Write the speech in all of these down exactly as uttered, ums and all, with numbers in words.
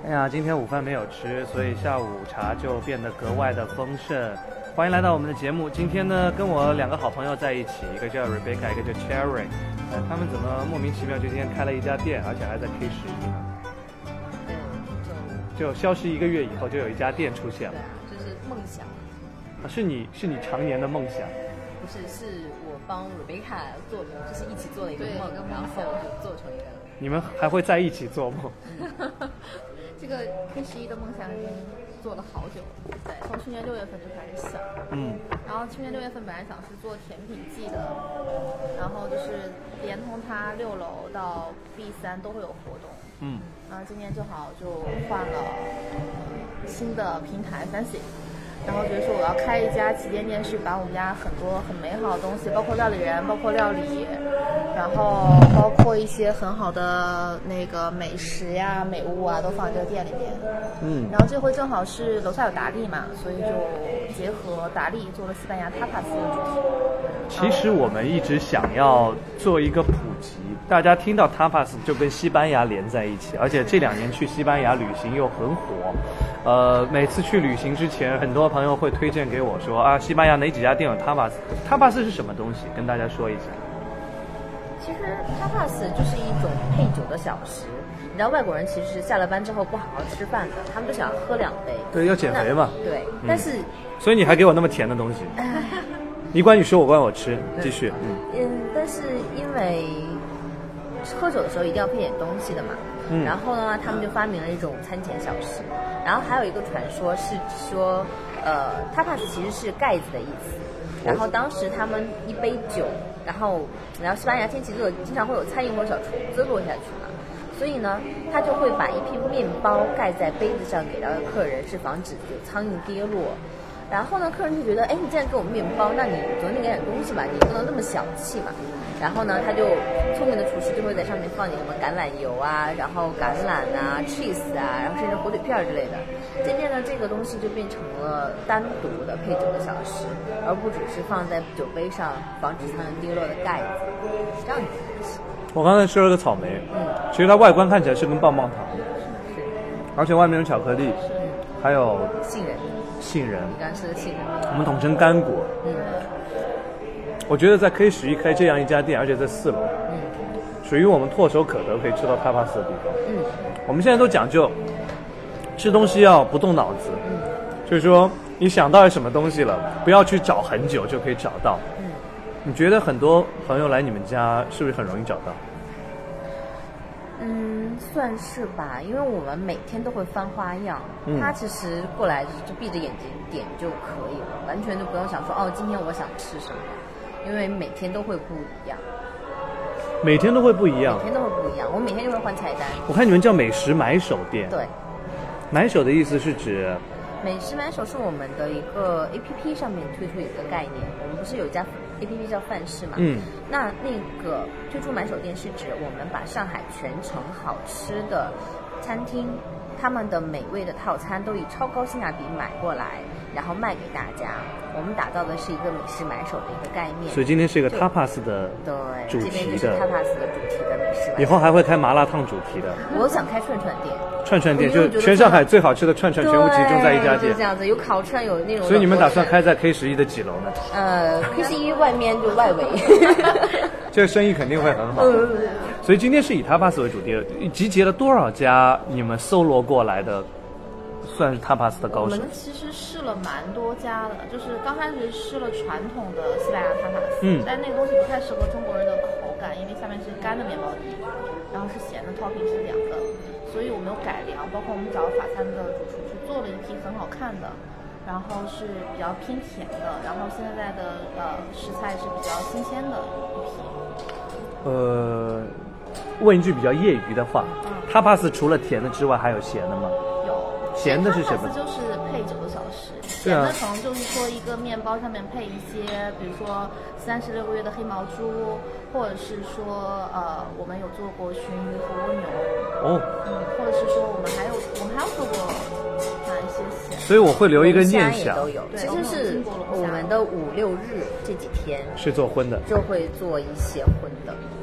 哎呀，今天午饭没有吃，所以下午茶就变得格外的丰盛。欢迎来到我们的节目。今天呢，跟我两个好朋友在一起，一个叫 Rebecca， 一个叫 Cherry。呃，他们怎么莫名其妙就今天开了一家店，而且还在 K 十一呢？就消失一个月以后，就有一家店出现了。 对啊，就是梦想。 啊，是你是你常年的梦想？ 不是，是我帮 Rebecca 做，就是一起做了一个梦，然后就做成一个。 你们还会在一起做梦？ 这个 K 十一的梦想已经做了好久了，对，从去年六月份就开始想， 嗯， 然后去年六月份本来想是做甜品季的，然后就是连同它六楼到 B 三都会有活动， 嗯， 然后今年正好就换了新的平台 Fancy， 然后觉得说我要开一家旗舰店，是把我们家很多很美好的东西，包括料理人，包括料理，然后包括一些很好的那个美食呀、美物啊，都放在这个店里面。 嗯， 然后这回正好是楼下有达利嘛，所以就结合达利做了西班牙 tapas 的主题。 其实我们一直想要做一个普及，大家听到 tapas 就跟西班牙连在一起，而且这两年去西班牙旅行又很火。呃，每次去旅行之前，很多朋友会推荐给我说啊，西班牙哪几家店有 tapas？tapas 是什么东西？跟大家说一下。 其实 tapas 就是一种配酒的小食。你知道外国人其实下了班之后不好好吃饭的，他们就想喝两杯。 对，要减肥嘛。 对， 嗯、 但是所以你还给我那么甜的东西。你管你说，我管我吃，继续。 嗯嗯，但是因为喝酒的时候一定要配点东西的嘛。嗯。然后呢，他们就发明了一种餐前小食。然后还有一个传说是说，呃 ，tapas 其实是盖子的意思。然后当时他们一杯酒，然后然后西班牙天气热，经常会有苍蝇或者小虫子落下去嘛，所以呢，他就会把一片面包盖在杯子上给到客人，是防止有苍蝇跌落。然后呢，客人就觉得，哎，你既然给我面包，那你总得给点东西吧，你不能那么小气嘛。然后呢，他就聪明的厨师就会在上面放点什么橄榄油啊，然后橄榄啊、cheese 啊，然后甚至火腿片之类的。渐渐的，这个东西就变成了单独的配酒的小食，而不只是放在酒杯上防止苍蝇跌落的盖子。这样子。 我刚才吃了个草莓，嗯，其实它外观看起来是跟棒棒糖，是，而且外面有巧克力， 是， 还有杏仁。 杏仁， 你刚吃的杏仁， 我们统称干果。 嗯， 我觉得在 K 十一开这样一家店，而且在四楼，嗯，属于我们唾手可得可以吃到 tapas 的地方。嗯，我们现在都讲究吃东西要不动脑子，嗯，就是说你想到什么东西了，不要去找很久就可以找到。嗯，你觉得很多朋友来你们家是不是很容易找到？ 嗯，算是吧，因为我们每天都会翻花样。嗯、他其实过来就闭着眼睛点就可以了，完全就不用想说哦，今天我想吃什么，因为每天都会不一样。 每天都会不一样。 每天都会不一样，我每天就会换菜单。 我看你们叫美食买手店。 对， 买手的意思是指。 美食买手是我们的一个 A P P 上面推出一个概念，我们不是有一家 A P P 叫范式嘛？嗯，那那个推出买手店是指我们把上海全城好吃的餐厅，他们的美味的套餐都以超高性价比买过来，然后卖给大家。我们打造的是一个美食买手的一个概念。 所以今天是一个 tapas 的主题的， 对，这边就是 tapas 的主题的美食。 以后还会开麻辣烫主题的。 我想开串串店。 串串店就是全上海最好吃的串串全部集中在一家店， 就这样子，有烤串，有那种。 所以你们打算开在 K 十一的几楼呢？ 呃 ，K 十一外面就外围。 这个生意肯定会很好。所以今天是以 tapas 为主题，集结了多少家你们搜罗过来的，算是 tapas 的高手？ 我们其实试了蛮多家的，就是刚开始试了传统的西班牙 tapas，嗯，但那个东西不太适合中国人的口感，因为下面是干的面包底，然后是咸的 topping 是凉的。所以我们有改良，包括我们找法餐的主厨去做了一批很好看的，然后是比较偏甜的，然后现在的呃食材是比较新鲜的一批。呃， 问一句比较业余的话，嗯，tapas 除了甜的之外还有咸的吗？ 有。 咸的是什么？ 就是配酒的小食。咸的可能就是说一个面包上面配一些，比如说三十六个月的黑毛猪，或者是说呃，我们有做过熏鱼和蜗牛。哦。嗯，或者是说我们还有我们还有做过哪一些咸？ 所以我会留一个念想。 都有，其实是我们的五六日这几天是做荤的， 就会做一些荤的。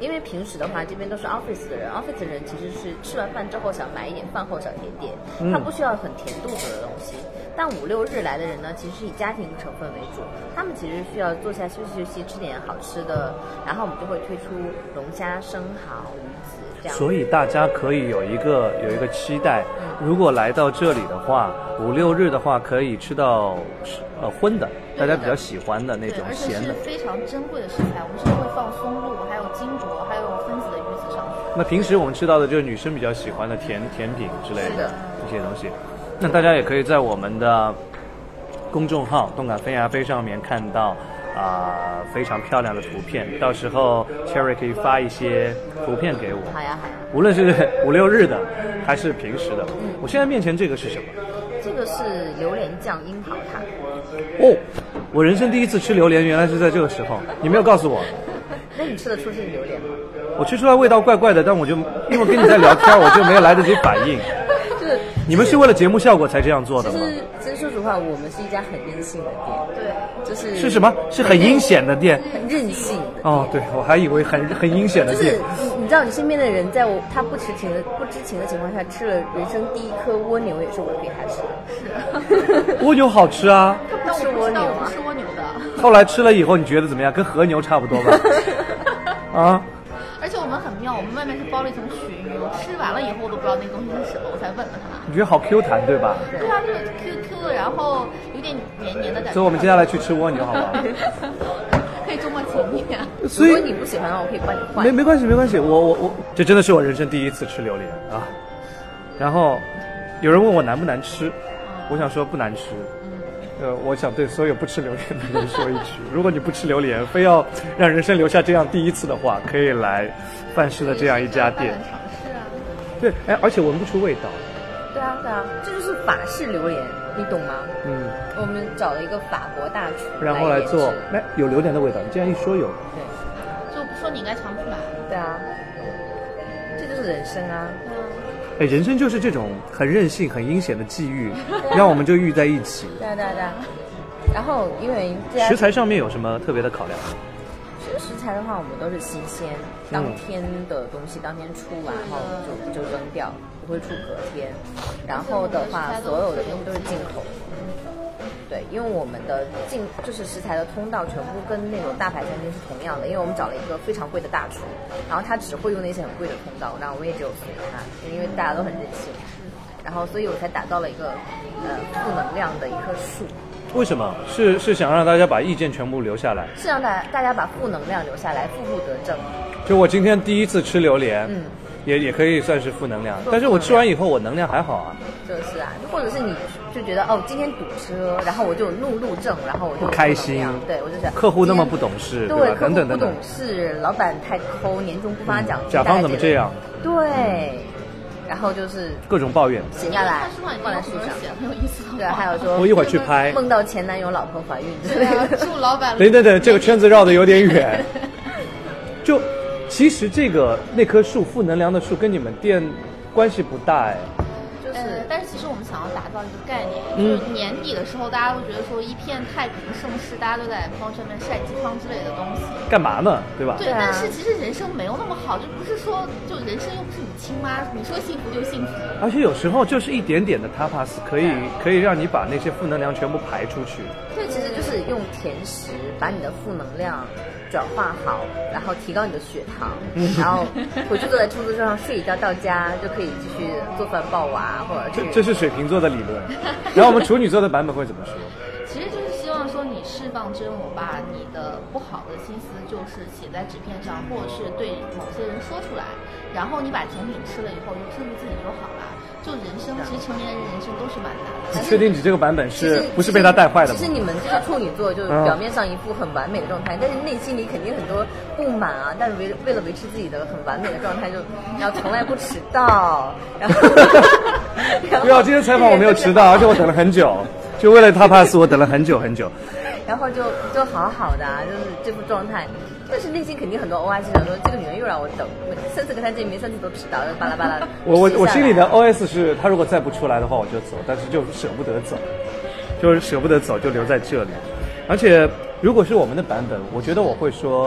因为平时的话，这边都是 office 的人 ，office 的人其实是吃完饭之后想买一点饭后小甜点，他不需要很甜肚子的东西。但五六日来的人呢，其实是以家庭成分为主，他们其实需要坐下休息休息，吃点好吃的，然后我们就会推出龙虾、生蚝、鱼子这样。 所以大家可以有一个有一个期待，如果来到这里的话，五六日的话可以吃到呃荤的，大家比较喜欢的那种咸的， 而且是非常珍贵的食材，我们是会放松露，还有金箔，还有分子的鱼子上去。 那平时我们吃到的就是女生比较喜欢的甜甜品之类的这些东西。那大家也可以在我们的公众号动感飞呀飞上面看到啊、呃、非常漂亮的图片，到时候 Cherry 可以发一些图片给我。 好呀好呀。 无论是五六日的还是平时的。嗯、我现在面前这个是什么？ 这个是榴莲酱樱桃塔。 哦，我人生第一次吃榴莲，原来是在这个时候，你没有告诉我。 那你吃得出是榴莲吗？ 我吃出来味道怪怪的，但我就因为我跟你在聊天，我就没有来得及反应。 就是你们是为了节目效果才这样做的吗？ 其实，其实说实话，我们是一家很任性的店。 对， 就是是什么？是很阴险的店。 很任性的店。 哦，对，我还以为很很阴险的店。 就是你，你知道，你身边的人在我他不知情的不知情的情况下吃了人生第一颗蜗牛，也是我给他吃的。 是。蜗牛好吃啊。 他不吃蜗牛啊？吃蜗牛的。 后来吃了以后，你觉得怎么样？跟和牛差不多吧？啊。 而且我们很妙，我们外面是包了一层鳕鱼，我吃完了以后我都不知道那个东西是什么，我才问了他。 你觉得好 Q 弹对吧？ 对啊，就是 Q Q 的，然后有点黏黏的感觉。 所以我们接下来去吃蜗牛好不好？ 可以周末请你啊。 如果你不喜欢的话，我可以帮你换。 没没关系没关系，我我我，这真的是我人生第一次吃榴莲啊。然后有人问我难不难吃，我想说不难吃。呃，我想对所有不吃榴莲的人说一句：如果你不吃榴莲，非要让人生留下这样第一次的话，可以来范式的这样一家店。 尝试啊。 对，哎，而且闻不出味道。 对啊，对啊，这就是法式榴莲，你懂吗？ 嗯。 我们找了一个法国大厨， 然后来做，哎，有榴莲的味道。你既然一说有， 对，就不说你应该尝不出来。 对啊，这就是人生啊。 嗯。 哎，人生就是这种很任性、很阴险的际遇，让我们就遇在一起。 对啊，对啊，对啊。然后因为食材上面有什么特别的考量？ 其实食材的话，我们都是新鲜，当天的东西当天出完后就就扔掉，不会出隔天。然后的话，所有的东西都是进口。对，因为我们的进就是食材的通道全部跟那种大牌餐厅是同样的，因为我们找了一个非常贵的大厨，然后他只会用那些很贵的通道，然后我们也只有随他，因为大家都很任性，然后所以我才打造了一个呃负能量的一棵树。 为什么？是是想让大家把意见全部留下来， 是让大家大家把负能量留下来，负负得正。 就我今天第一次吃榴莲， 嗯， 也也可以算是负能量，但是我吃完以后我能量还好啊。 就是啊，或者是你就觉得哦，今天堵车，然后我就怒路症，然后我就不开心， 对我就想客户那么不懂事， 对吧？等等等等， 不懂事，老板太抠，年终不发奖金， 甲方怎么这样？ 对。然后就是各种抱怨， 写下来放在书上， 很有意思。 对，还有说我一会儿去拍， 梦到前男友老婆怀孕之类的。 祝老板。 等等等，这个圈子绕得有点远。就其实这个那棵树负能量的树跟你们店关系不大哎。 就是，但是其实我们想要打造一个概念，嗯、就是年底的时候，大家会觉得说一片太平盛世，大家都在朋友圈里面晒鸡汤之类的东西， 干嘛呢？对吧？ 对，但是其实人生没有那么好，就不是说就人生又不是你亲妈，你说幸福就幸福。 而且有时候就是一点点的 tapas 可以可以让你把那些负能量全部排出去。 这其实就是用甜食把你的负能量转化好，然后提高你的血糖，然后回去坐在出租车上睡一觉，到家就可以继续做饭抱娃，或者这这是水瓶座的理论。然后我们处女座的版本会怎么说？ 其实就是希望说你释放真我，把你的不好的心思就是写在纸片上，或者是对某些人说出来，然后你把甜品吃了以后就治愈自己就好了。就人生，其实成年人人生都是蛮难的。 你确定你这个版本是不是被他带坏的吗？ 其实你们这个处女座就是表面上一副很完美的状态，嗯、但是内心里肯定很多不满啊。但是为为了维持自己的很完美的状态，就然后从来不迟到。然后不要，今天采访我没有迟到，而且我等了很久，就为了他 pass 我等了很久很久。 然后就就好好的啊，就是这副状态。但是内心肯定很多 O S 想说，这个女人又让我等，三次跟她见面，三次都迟到，巴拉巴拉。 我我我心里的 O S 是，她如果再不出来的话，我就走，但是就舍不得走，就是舍不得走，就留在这里。而且如果是我们的版本，我觉得我会说，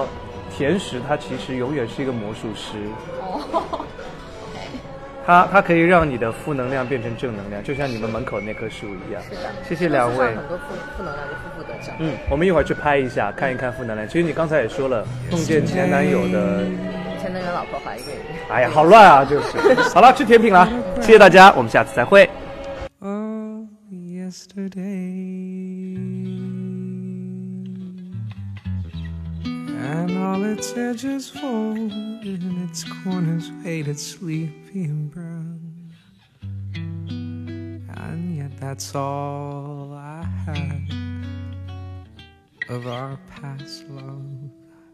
甜食它其实永远是一个魔术师。 哦。 它它可以让你的负能量变成正能量，就像你们门口那棵树一样。 是的， 谢谢两位。 很多负负能量就负负得正。 嗯，我们一会儿去拍一下，看一看负能量。其实你刚才也说了，梦见前男友的， 前男友老婆怀孕。 哎呀，好乱啊，就是。好了，吃甜品了，谢谢大家，我们下次再会。Oh, yesterday, and all its edges fold, and its corners faded sleepy and brown. And yet that's all I had of our past love.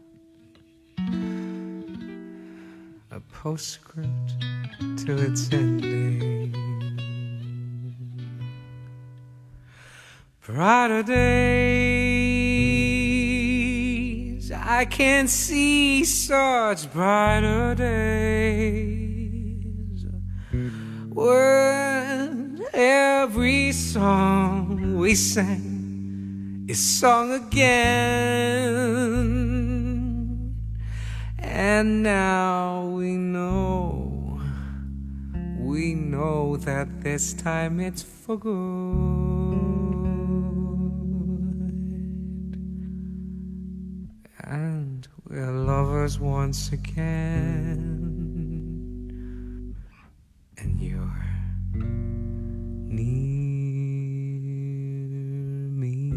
A postscript to its ending. Brighter days, I can see such brighter days, when every song we sang is sung again. And now we know, we know that this time it's for good. And we're lovers once again, and you're near me.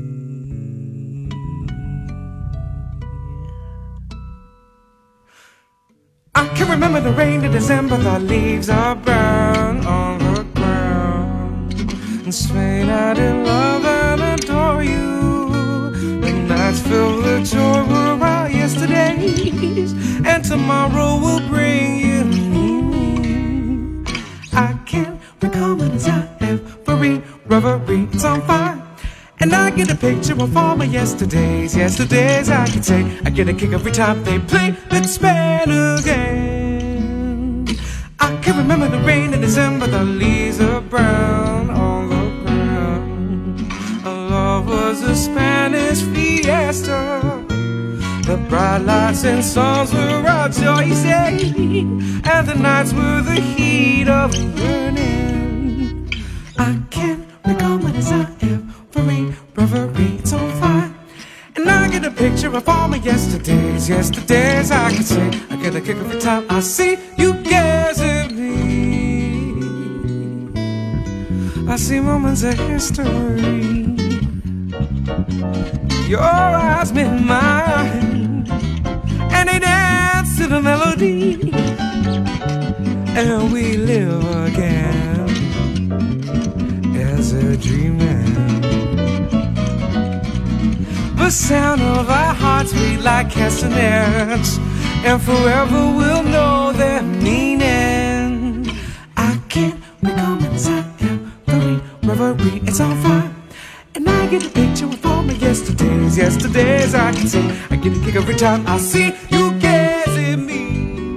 I can remember the rain in December, the leaves are brown on the ground, and Spain, I did love and adore you. The nights filled with joy were our yesterdays, and tomorrow will bring you me. I can't recall when it's I every reverie, it's on fire. And I get a picture of all my yesterdays, yesterdays I can say. I get a kick every time they play Let's Spin Again. I can remember the rain in December, the leaves are brown on the ground. Our love was a Spanish fiesta. The bright lights and songs were our joy, you say, and the nights were the heat of yearning. I can't recall when it's I every reverie, it's on fire. And I get a picture of all my yesterdays, yesterdays I can say. I get a kick every time I see you gaze me. I see moments of history. Your eyes meet mine, and they dance to the melody, and we live again as a dreaming. The sound of our hearts beat like castanets, and forever we'll know their meaning. I can't recall inside every reverie, it's on fire. And I get a picture of all my yesterdays, yesterdays I can see. I get a kick every time I see you gaze at me.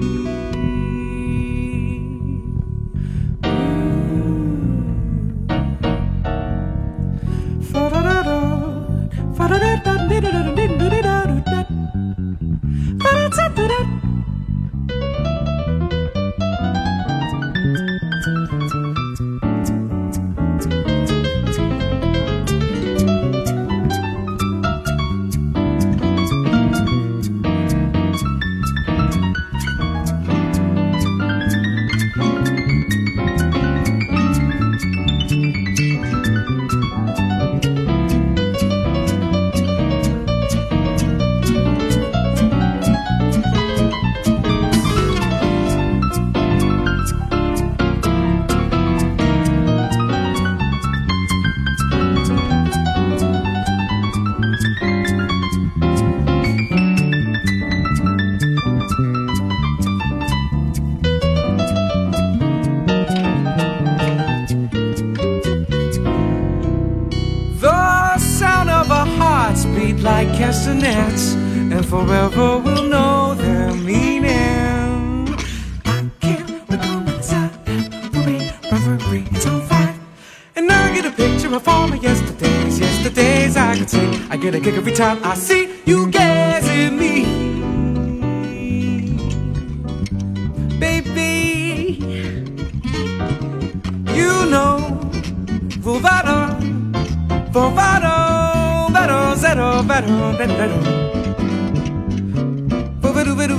Like castanets, and forever we'll know their meaning. I can't recall inside every reverie, it's on fire. And I get a picture of all my yesterdays, yesterdays I can see. I get a kick every time I see you gaze at me. Vado, vado, vado, zero, vado, vado. Vado, vado,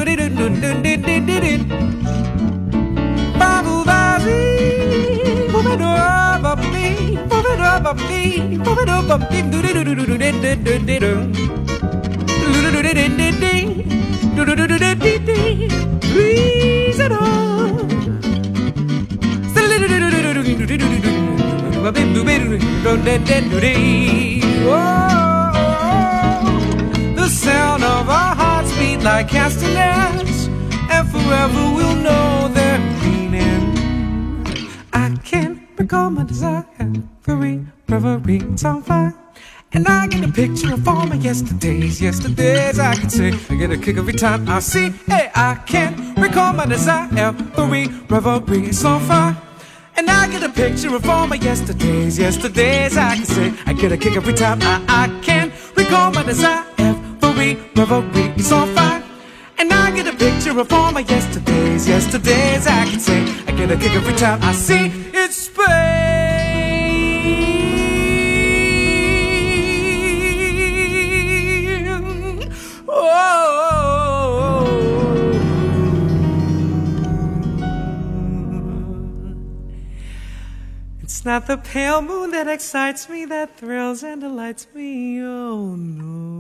the sound of our hearts beat like castanets, and forever we'll know their meaning. I can't recall my desire for reverie, it's on fire. And I get a picture of all my yesterdays, yesterdays I can say I get a kick every time I see. Hey, I can't recall my desire for reverie, it's on fire. And I get a picture of all my yesterdays, yesterdays I can say I get a kick every time I, I can't recall my desire for reverie, it's on fire. And I get a picture of all my yesterdays, yesterdays I can say I get a kick every time I see it's Spain. Oh, it's not the pale moon that excites me, that thrills and delights me, oh no.